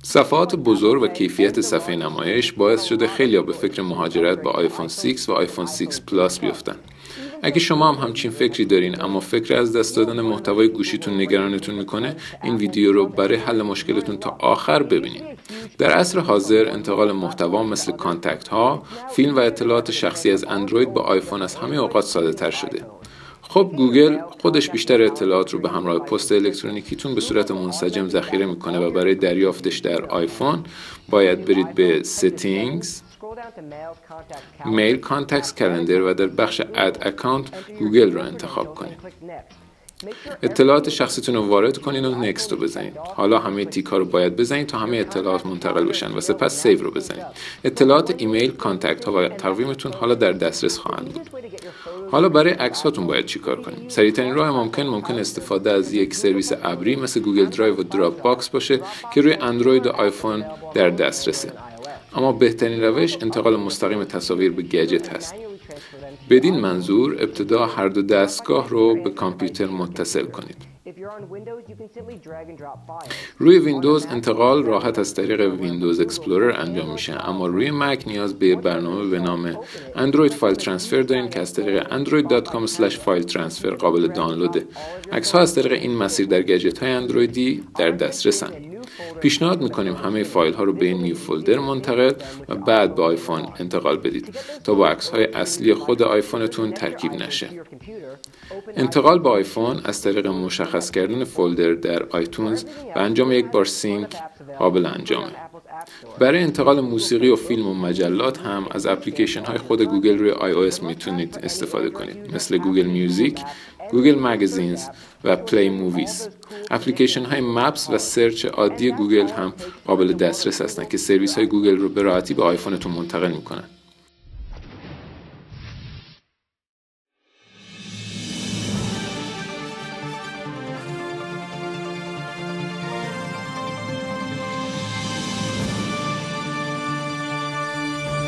صفحات بزرگ و کیفیت صفحه نمایش باعث شده خیلی‌ها به فکر مهاجرت به آیفون 6 و آیفون 6 پلاس بیفتن. اگه شما هم همچین فکری دارین اما فکر از دست دادن محتوای گوشیتون نگرانتون میکنه، این ویدیو رو برای حل مشکلتون تا آخر ببینید. در عصر حاضر انتقال محتوا مثل کانتکت ها، فیلم و اطلاعات شخصی از اندروید به آیفون از همه اوقات ساده تر شده. خب گوگل خودش بیشتر اطلاعات رو به همراه پست الکترونیکیتون به صورت منسجم ذخیره میکنه و برای دریافتش در آیفون باید برید به Settings، میل کانتکتس کلندر و در بخش اد اکانت گوگل رو انتخاب کنید. اطلاعات شخصیتون رو وارد کنید و نکست رو بزنید. حالا همه تیک ها رو باید بزنید تا همه اطلاعات منتقل بشن و سپس سیو رو بزنید. اطلاعات ایمیل، کانتکت ها و تقویمتون حالا در دسترس خواهند بود. حالا برای عکس هاتون باید چیکار کنیم؟ سریع‌ترین راه ممکن استفاده از یک سرویس ابری مثل گوگل درایو و دراپ باکس باشه که روی اندروید و آیفون در دسترسه. اما بهترین روش انتقال مستقیم تصاویر به گجت هست. بدین منظور ابتدا هر دو دستگاه رو به کامپیوتر متصل کنید. روی ویندوز انتقال راحت از طریق ویندوز اکسپلورر انجام میشه، اما روی مک نیاز به برنامه به نام اندروید فایل ترانسفر دارین که از طریق android.com/filetransfer قابل دانلوده. عکس‌ها از طریق این مسیر در گجت‌های اندرویدی در دسترسن. پیشنهاد میکنیم همه فایل ها رو به این نیو فولدر منتقل و بعد به آیفون انتقال بدید تا با عکس های اصلی خود آیفونتون ترکیب نشه. انتقال به آیفون از طریق مشخص کردن فولدر در آیتونز و انجام یک بار سینک قابل انجامه. برای انتقال موسیقی و فیلم و مجلات هم از اپلیکیشن های خود گوگل روی iOS میتونید استفاده کنید، مثل گوگل میوزیک، گوگل مگزینز و پلی موویز. اپلیکیشن های مپس و سرچ عادی گوگل هم قابل دسترس هستند که سرویس های گوگل رو به راحتی به آیفونتون منتقل میکنن.